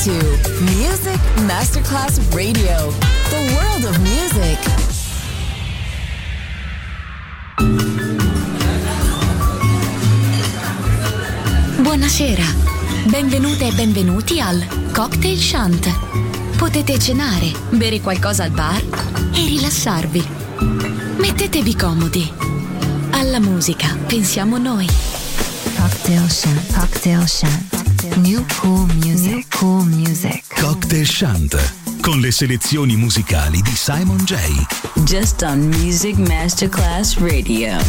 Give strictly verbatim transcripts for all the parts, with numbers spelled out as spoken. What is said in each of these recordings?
to Music Masterclass Radio, the world of music. Buonasera, benvenute e benvenuti al Cocktail Shant. Potete cenare, bere qualcosa al bar e rilassarvi. Mettetevi comodi. Alla musica pensiamo noi. Cocktail Shant, Cocktail Shant. New cool music, New cool music. Cocktail Shant, con le selezioni musicali di Simon J. Just on Music Masterclass Radio.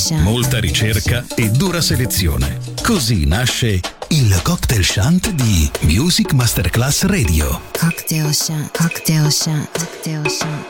Ocean. Molta ricerca e dura selezione. Così nasce il Cocktail Shant di Music Masterclass Radio. Cocktail Shant, Cocktail Shant, Cocktail Shant.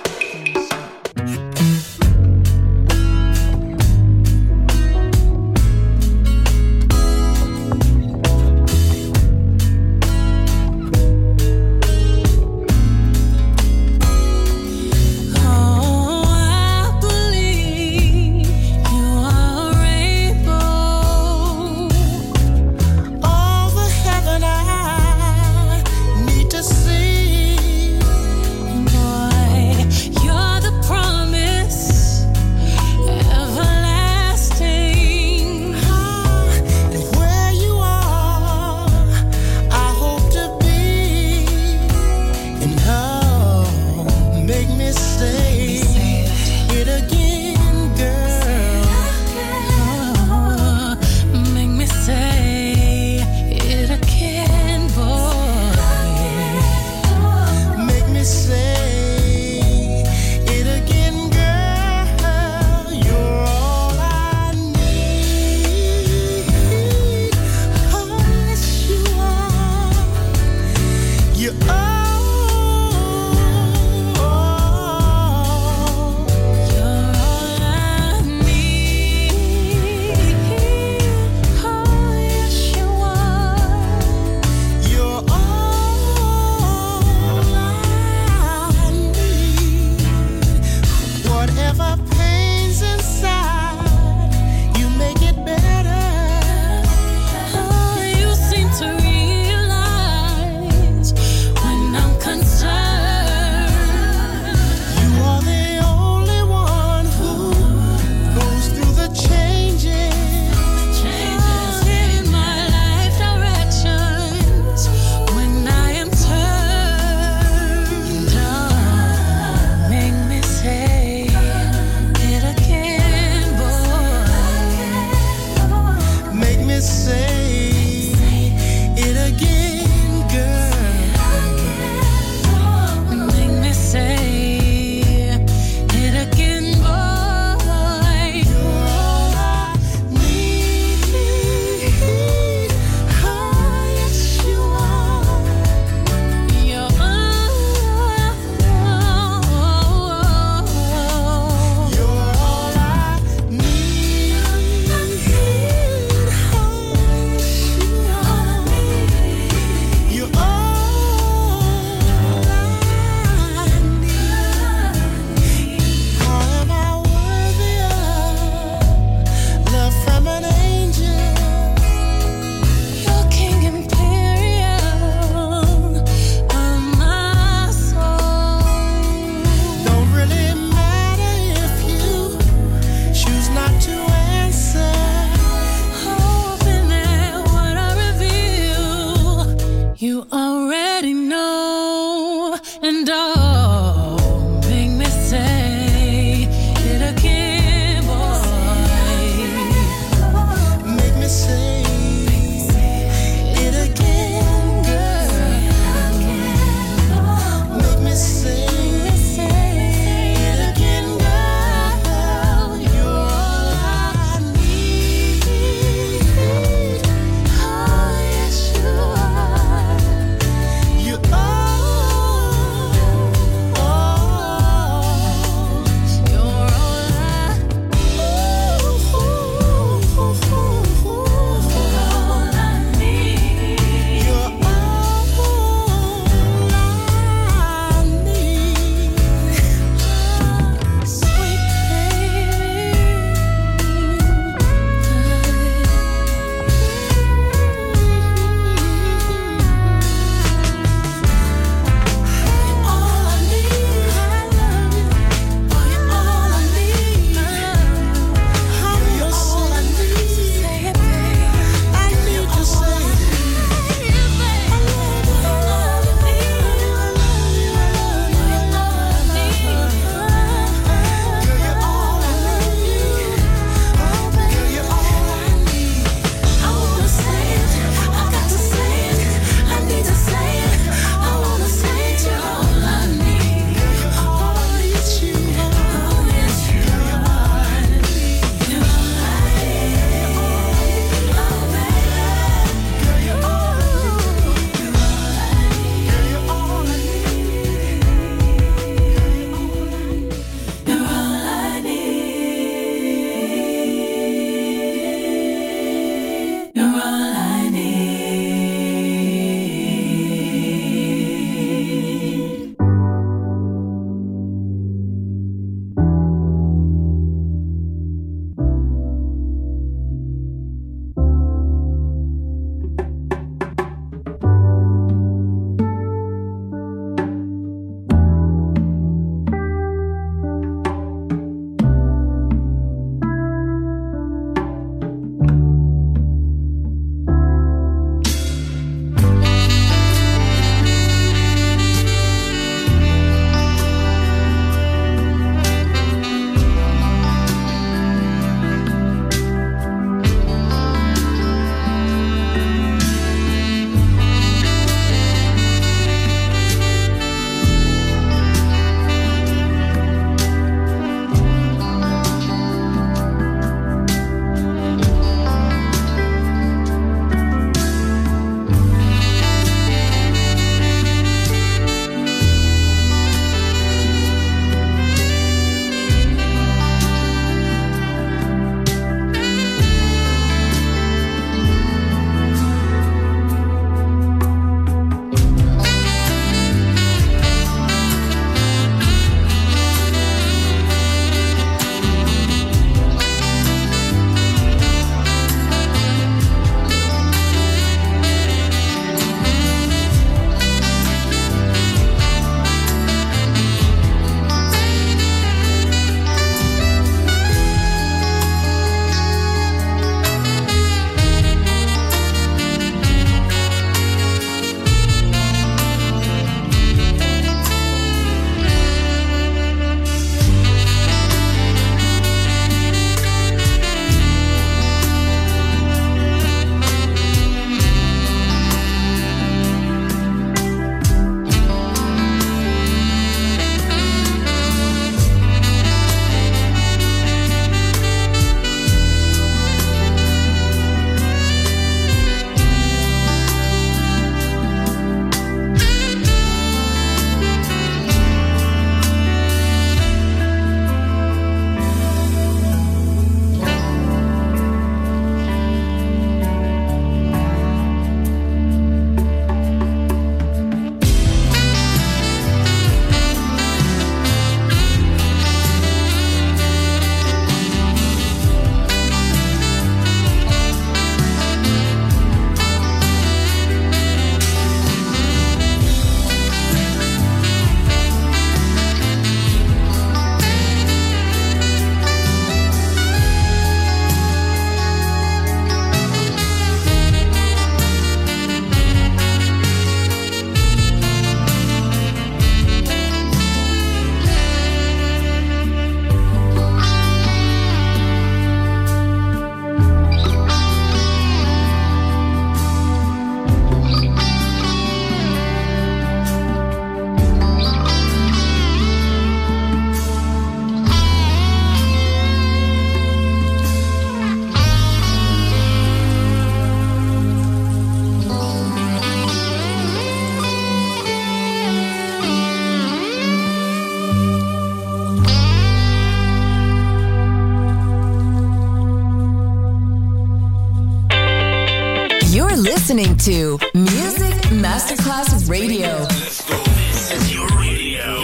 listening to Music Masterclass Radio. Let's go. This is your radio.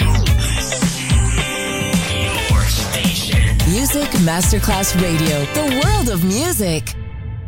Your station. Music Masterclass Radio. The world of music.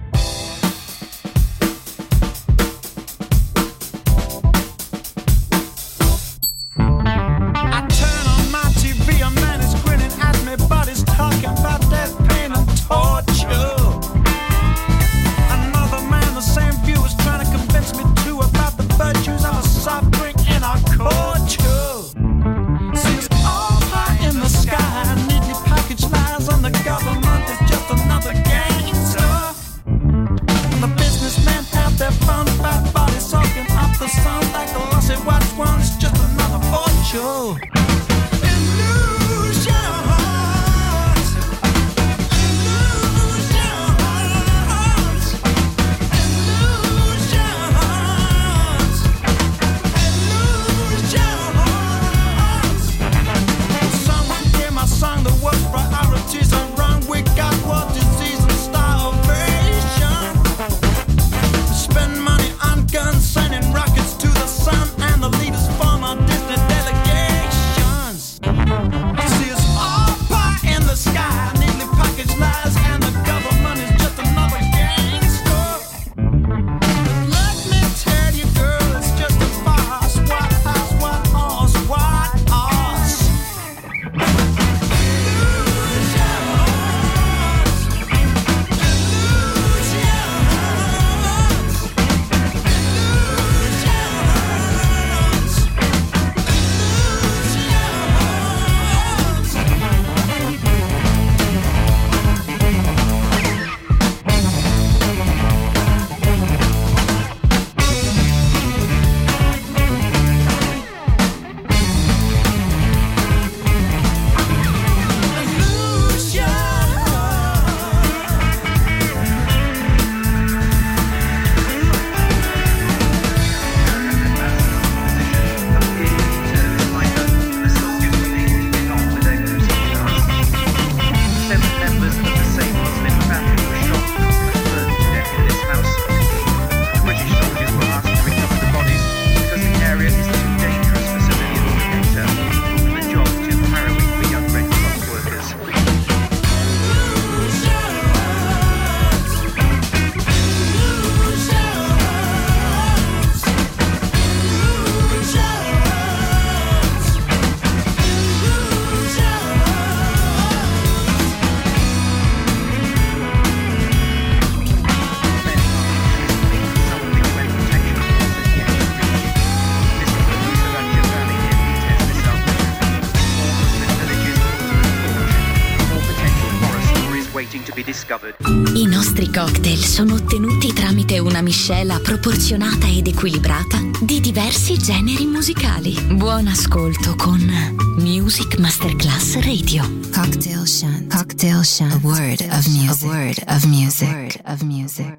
I nostri cocktail sono ottenuti tramite una miscela proporzionata ed equilibrata di diversi generi musicali. Buon ascolto con Music Masterclass Radio. Cocktail Shant. Cocktail Shant. A word of music. A word of music. A word of music.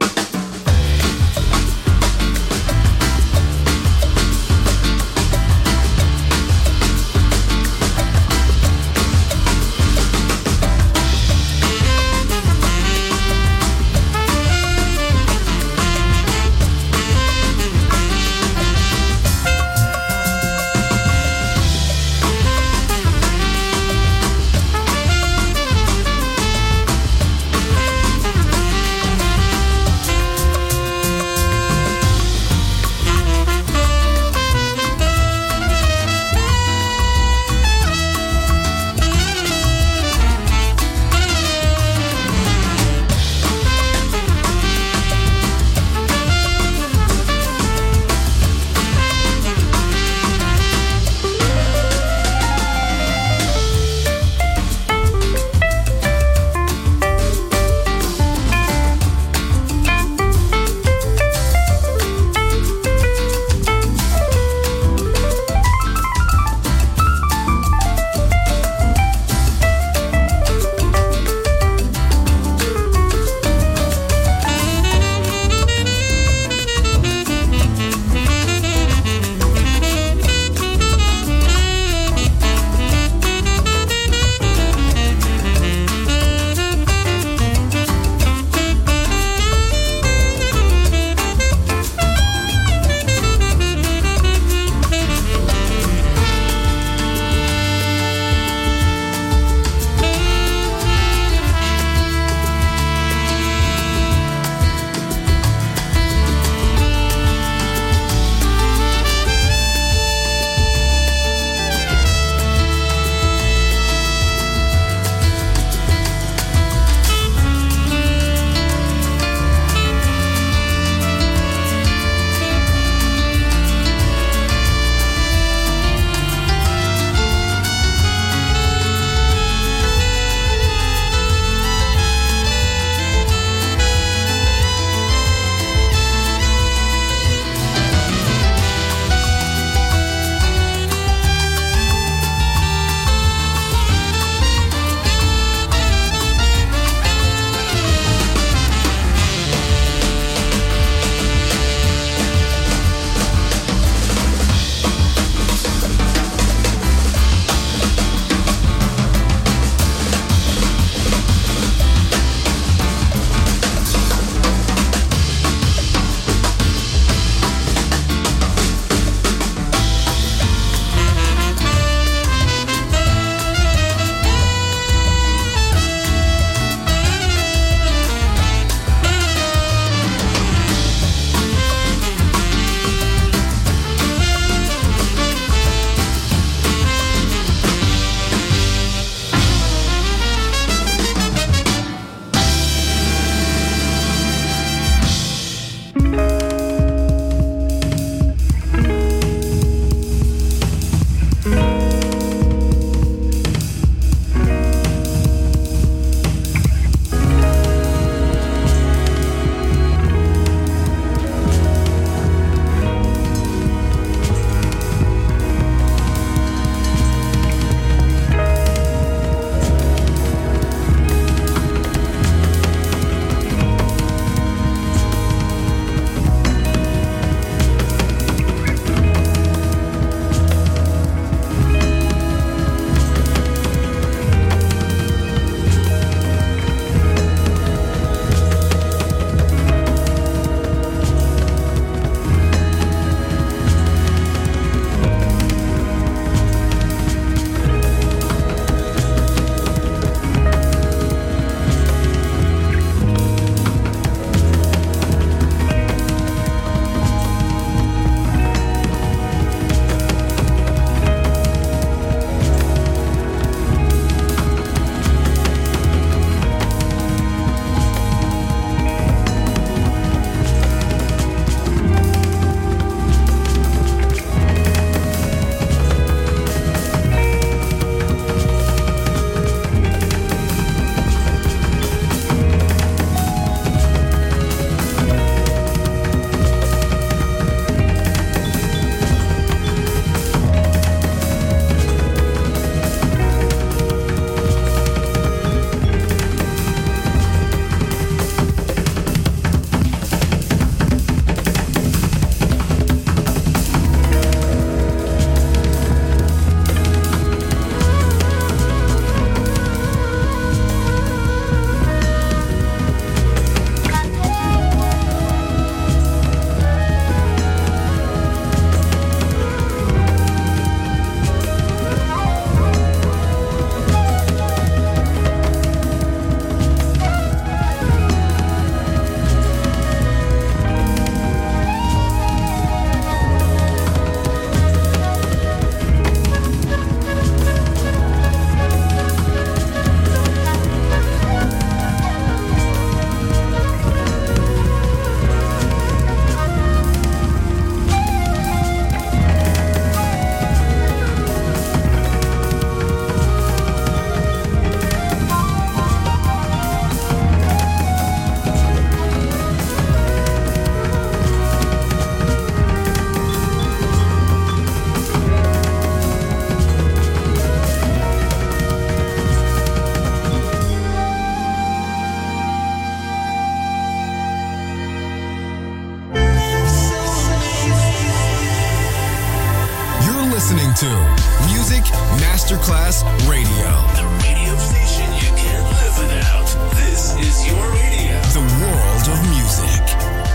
to Music Masterclass Radio. The radio station you can't live without. This is your radio. The world of music.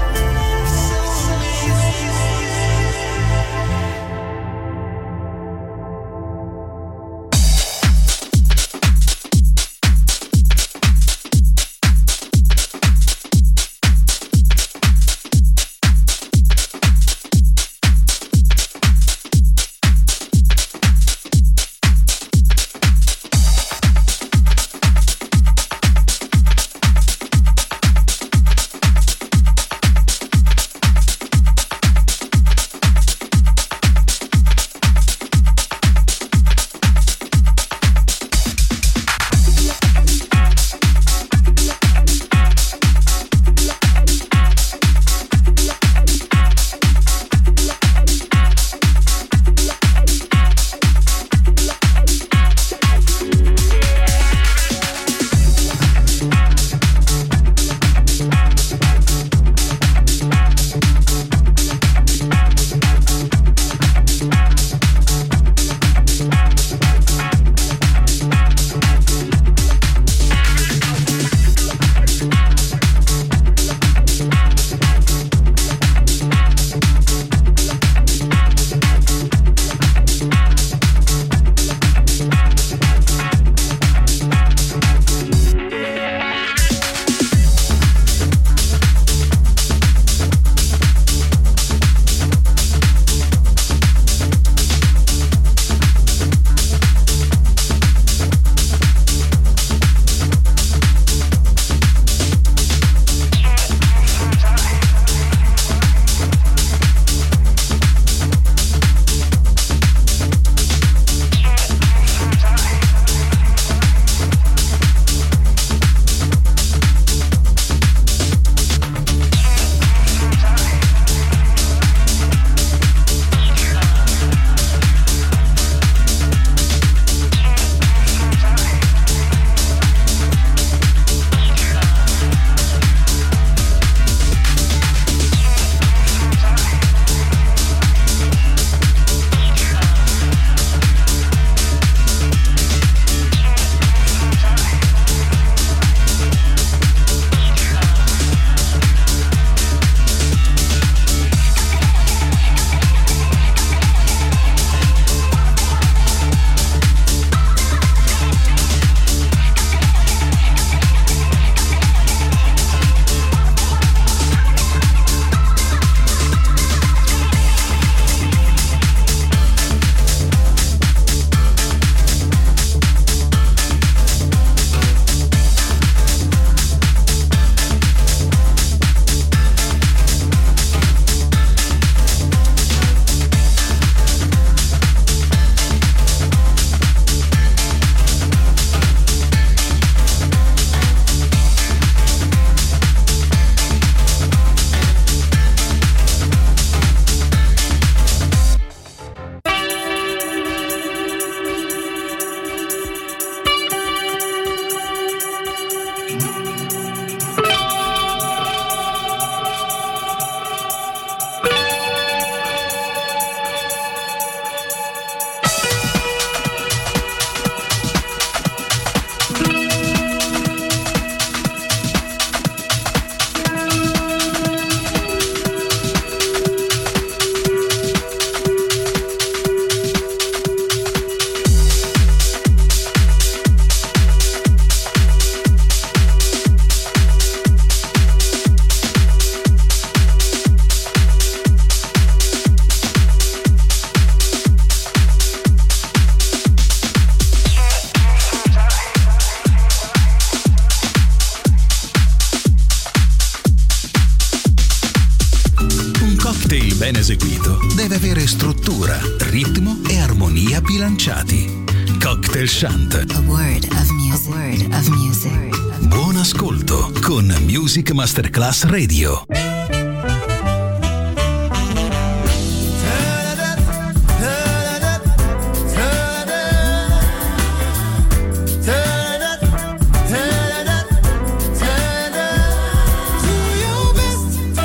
ben eseguito deve avere struttura, ritmo e armonia bilanciati. Cocktail Shant. A word of music. A word of music. Buon ascolto con Music Masterclass Radio.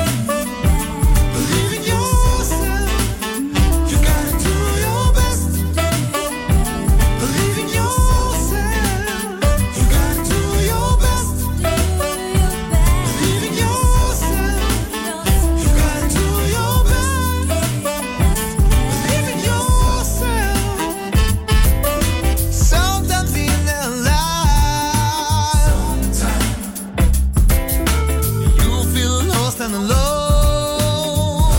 Believe in yourself. You gotta do your best. and alone.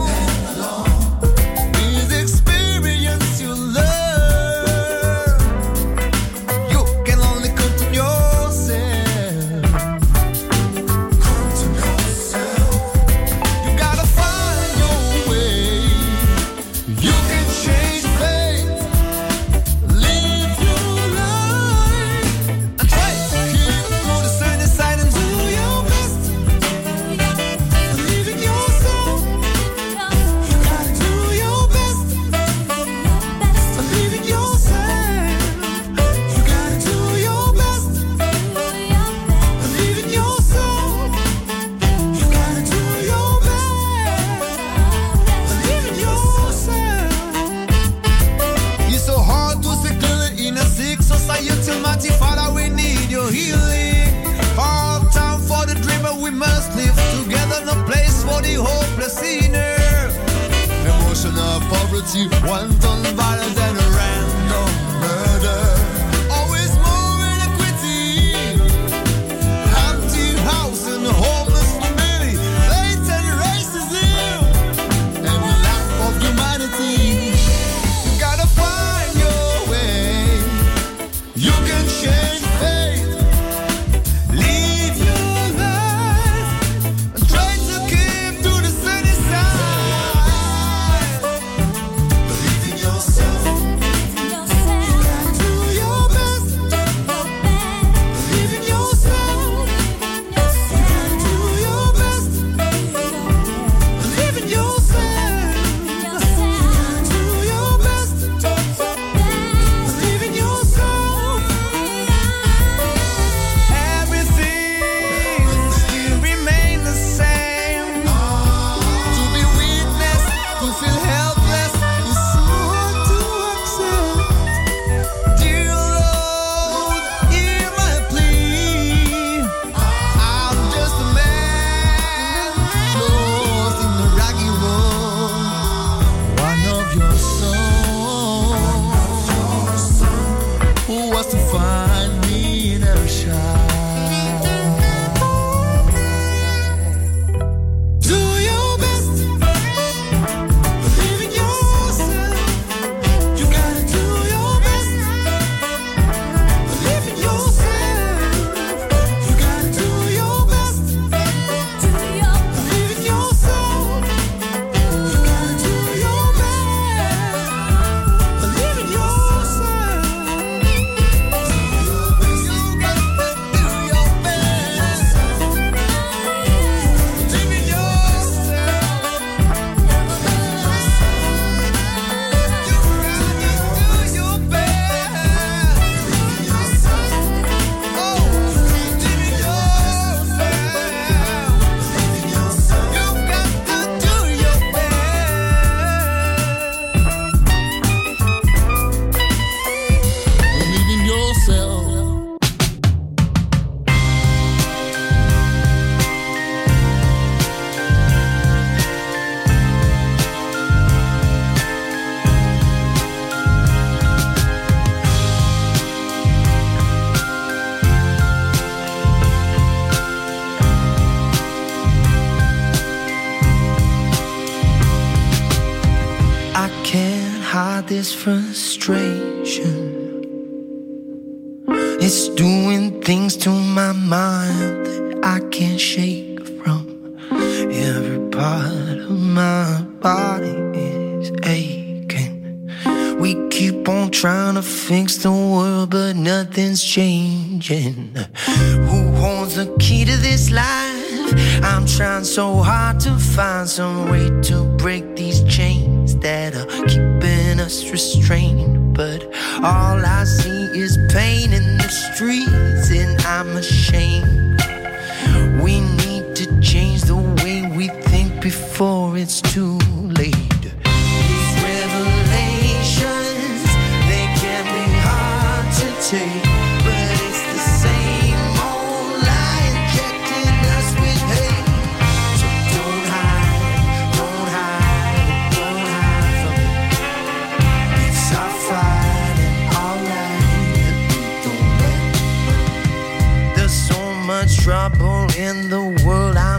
This experience you learn, you can only come to yourself. Come to yourself. You gotta find your way. You can change fate, live your life, and try to keep to the sunny side and do your best. Believe in yourself. You gotta do your best. Believe in yourself. You gotta do your best. Believe in yourself. You gotta do your best. Believe in yourself. It's so hard to stay clear in a sick society, mighty Father, we need your healing. Hard time for the dreamer, we must live together, no place for the hopeless sinner. Emotional poverty, wanton violence and a random murder. Always more inequity, empty house and homeless family, blatant racism, and lack of humanity. You gotta find your way. You can change fate, live your life, and try to keep to the sunny side. Believe in yourself. You gotta do your best. Believe in yourself. You gotta do your best. Believe in yourself. You gotta do your best. Believe in yourself. Everything still remain the same. To be witness, to feel helpless is so hard to accept. Dear Lord, hear my plea. I'm just a man lost in the rocky road. One of your sons who was to find me in a child. Do your best. Believe in yourself. You gotta do your best. Believe in yourself. You gotta do your best. Believe in yourself. You gotta do your best. Believe in yourself. I can't hide this frustration. It's doing things to my mind that I can't shake from. Every part of my body is aching. We keep on trying to fix the world, but nothing's changing. Who holds the key to this life? I'm trying so hard to find some way to break these chains that are keeping us restrained. But all I see is pain in the streets, and I'm ashamed. We need to change the way we think before it's too late. These revelations, they can be hard to take, but it's the same old lie injecting us with hate. So don't hide, don't hide, don't hide from it. It's our fight and our life that we don't let. There's so much trouble in the world, I'm losing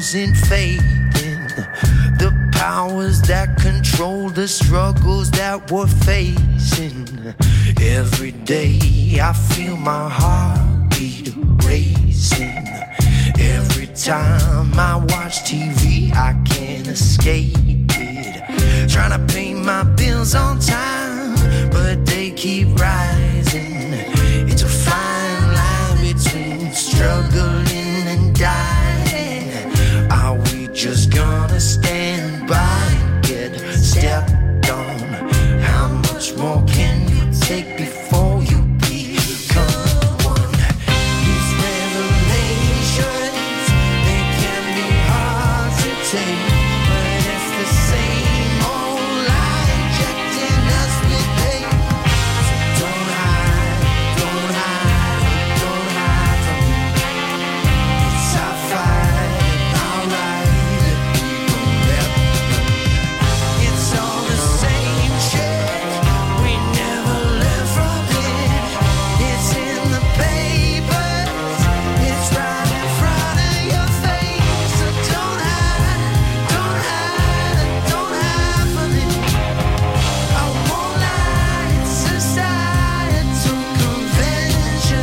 losing faith in the powers that control the struggles that we're facing. Every day I feel my heartbeat racing. Every time I watch T V I can't escape it. Trying to pay my bills on time, but they keep rising. It's a fine line between struggling and dying. Are we just gonna stand by and get stepped on? How much more can you take before you become one? These revelations, they can be hard to take, but it's the same old lie injecting us with pain. So don't hide, don't hide, don't hide from me. It's our fight, our right, that we don't let them. It's all the same shit, we never learn from it. It's in the papers, it's right in front of your face. So don't hide, don't hide, don't hide from it. I won't lie, it's societal convention.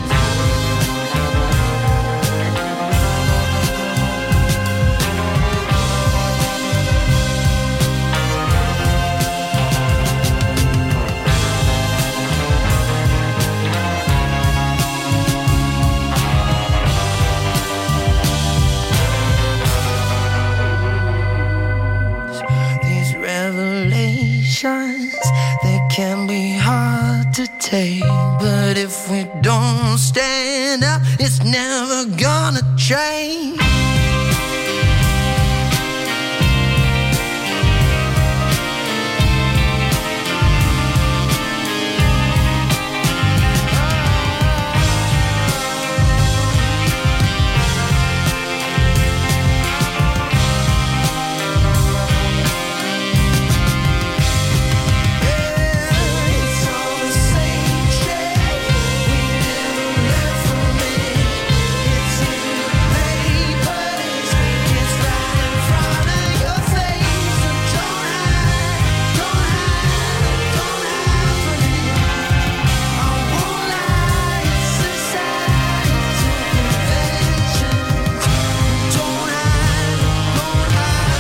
These revelations, they can be hard to take, but if we don't stand up, it's never gonna change. It's all the same shit, we never learn from it. It's in the papers, it's right in front of your face. So don't hide, don't hide, don't hide from it. I won't lie, it's societal convention. Don't hide, don't hide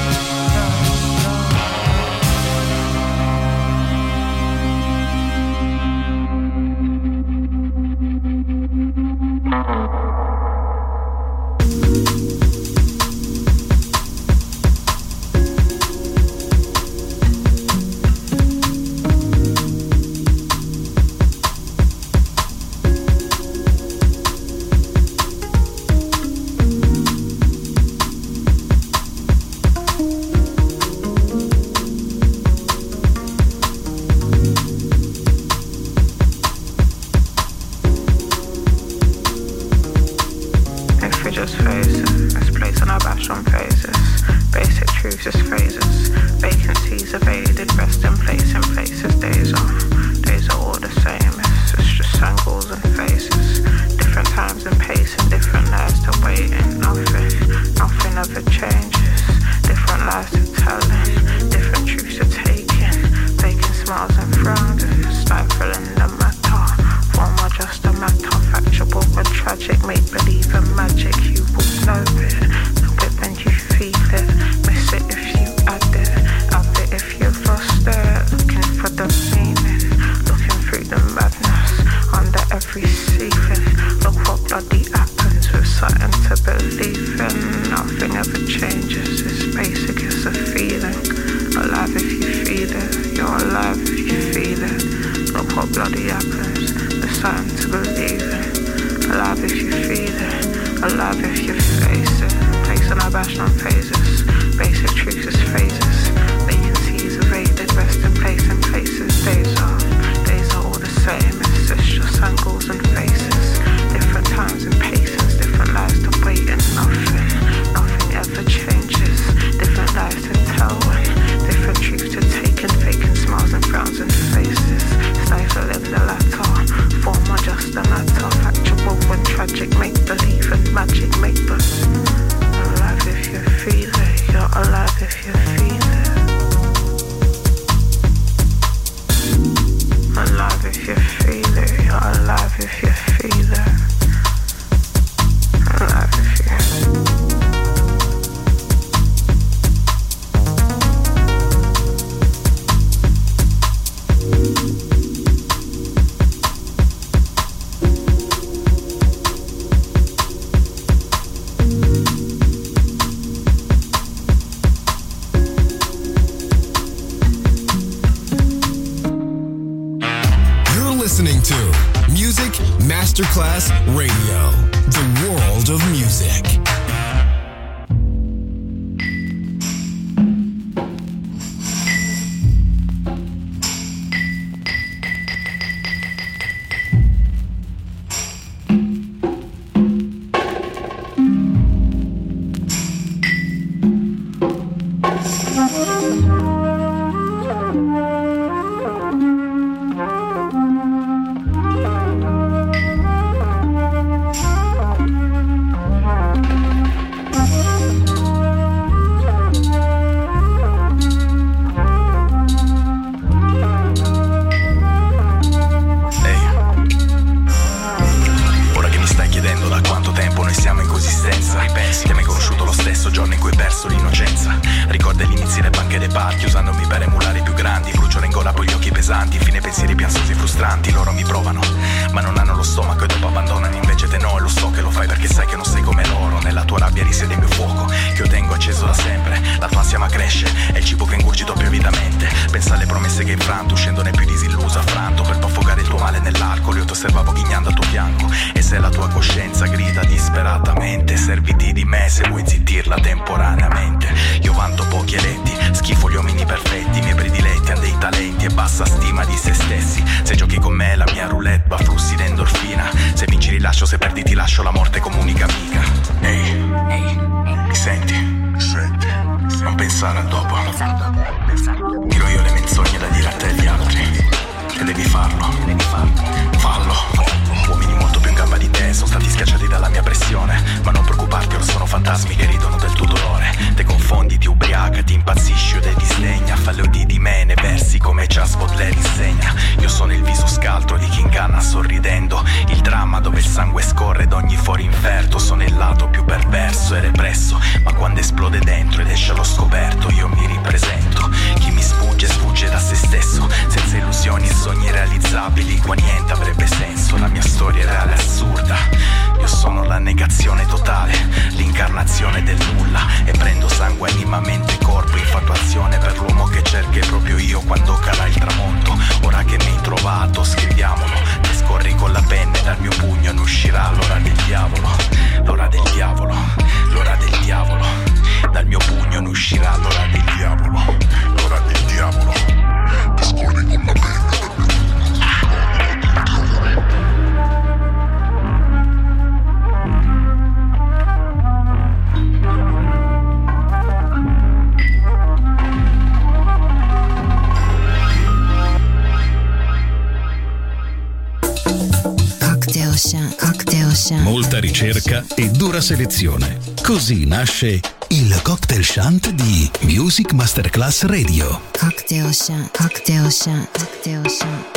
If we just face it, let's place on our bash on phases. Basic truths is phrases. Vacancies evaded, rest in place in places. Days are, days are all the same. It's, it's just angles and faces. Different times and pace and different lives to wait in. Nothing, nothing ever changes. Different lives to telling, different truths to taking. Faking smiles and frowns and stifling the matter. Form are just a matter, factual and tragic. Make believe and magic, you will know it. Know it when you feel it. Miss it if you add it. Have it if you've lost it. Looking for the meaning, looking through the madness under every ceiling. Look what bloody happens with something to believe in. Nothing ever changes, it's basic, it's a feeling. Alive if you feel it, you're alive if you feel it. Look what bloody happens, there's something to believe in. Alive if you feel it, alive if you face it. Place on our bash on phases, basic truths is phases. Vacancies evaded, rest in place in places. Days are, days are all the same, it's just angles and faces. Different times and paces, different lives to wait and nothing, nothing ever changes. Different lives to tell and different truths to take and faking smiles and frowns and faces. Stifling the latter, form are just a matter. Factual and tragic, make believe and magic, make believe. Alive Masterclass Radio, the world of music. Molta ricerca e dura selezione. Così nasce il Cocktail Shant di Music Masterclass Radio. Cocktail Shant, Cocktail Shant, Cocktail Shant.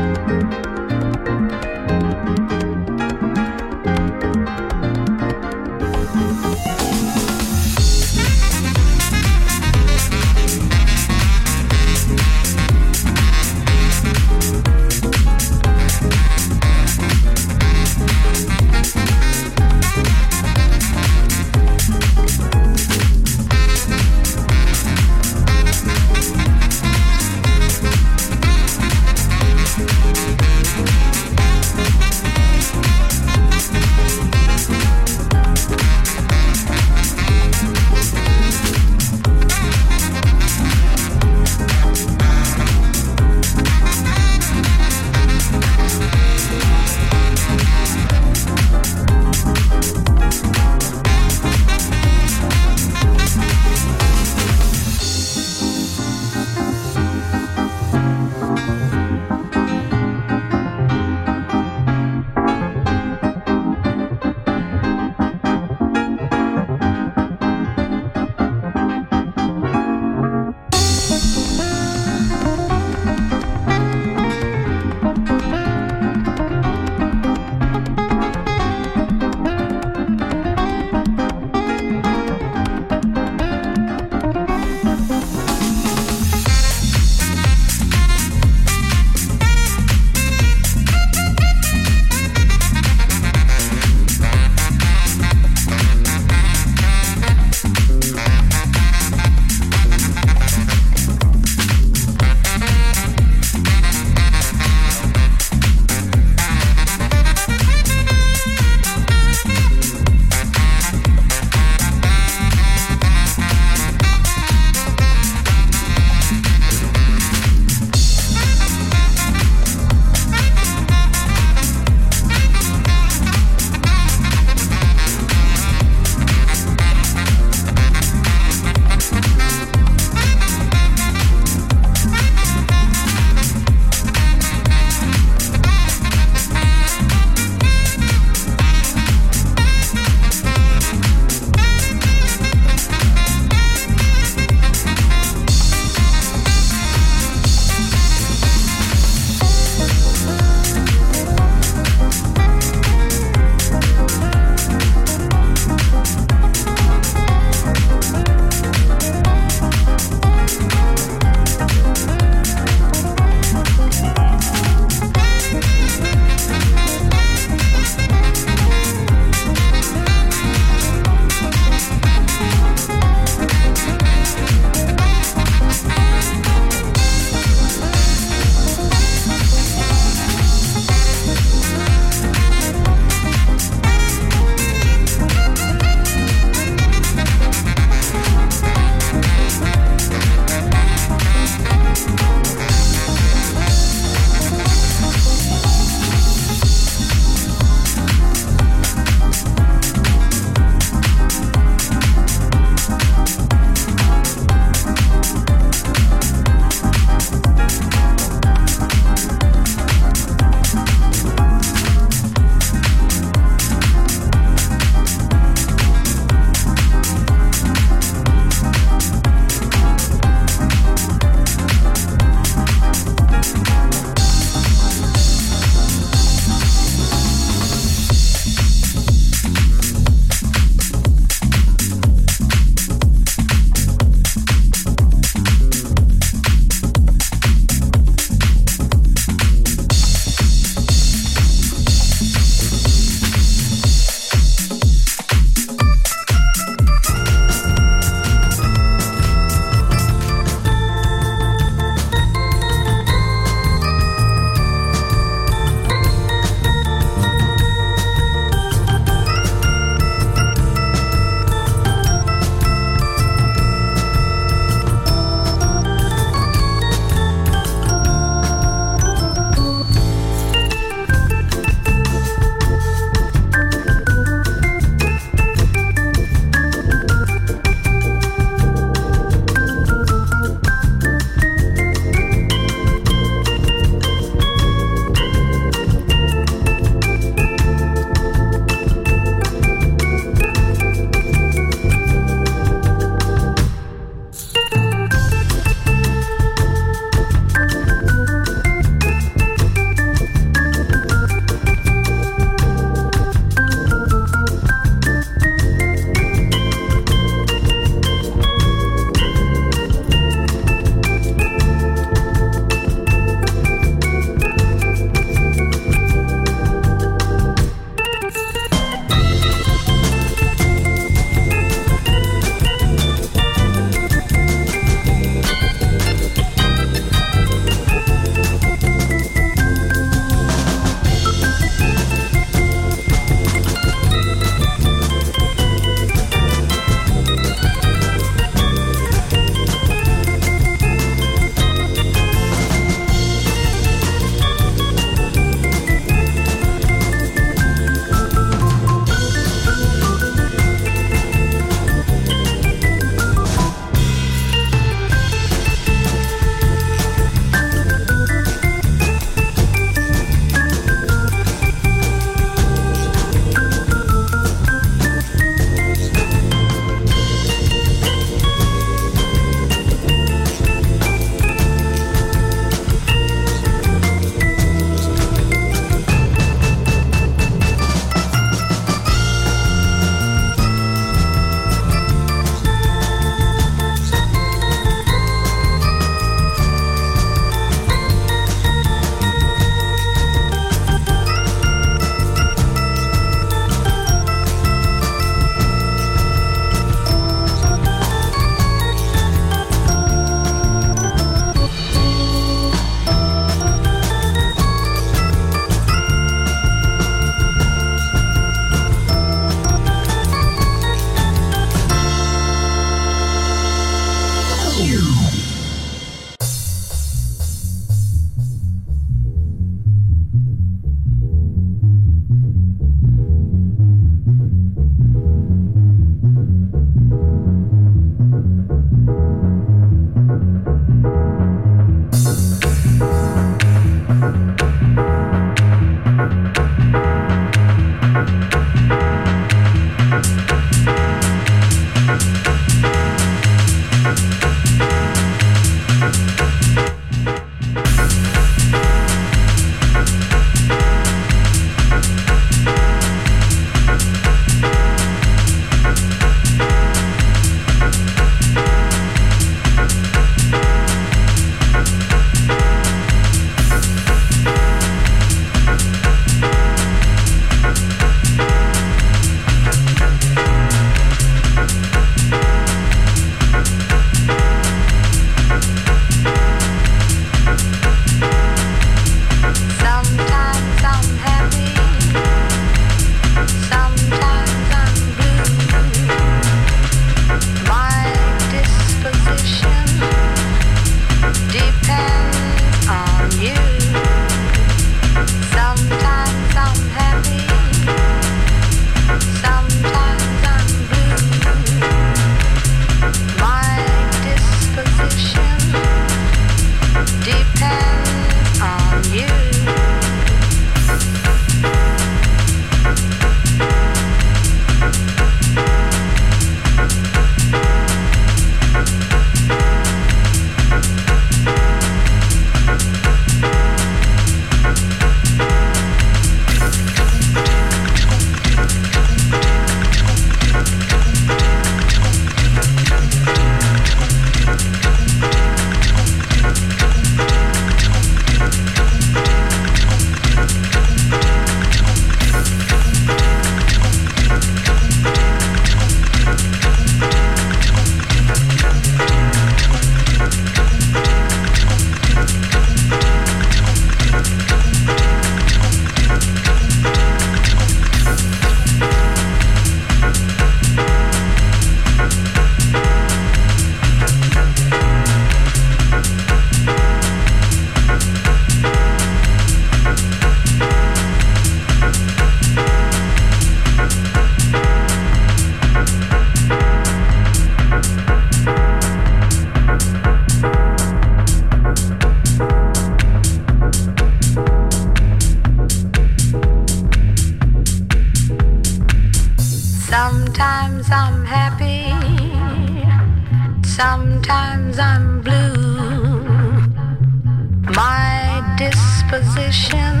disposition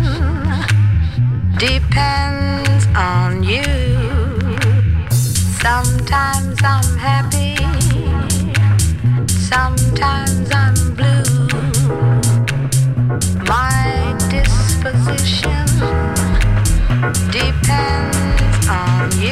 depends on you. Sometimes I'm happy, sometimes I'm blue. My disposition depends on you.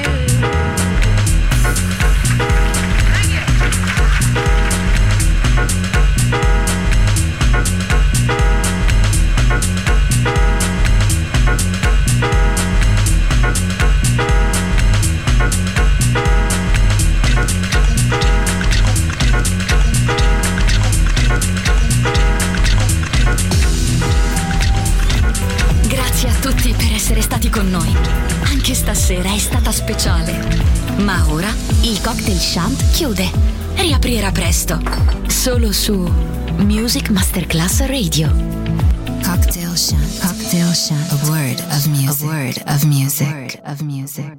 Grazie a tutti per essere stati con noi. Anche stasera è stata speciale. Ma ora il Cocktail Shant chiude. Riaprirà presto. Solo su Music Masterclass Radio. Cocktail Shant. Cocktail Shant. A word of music. A word of music. A word of music.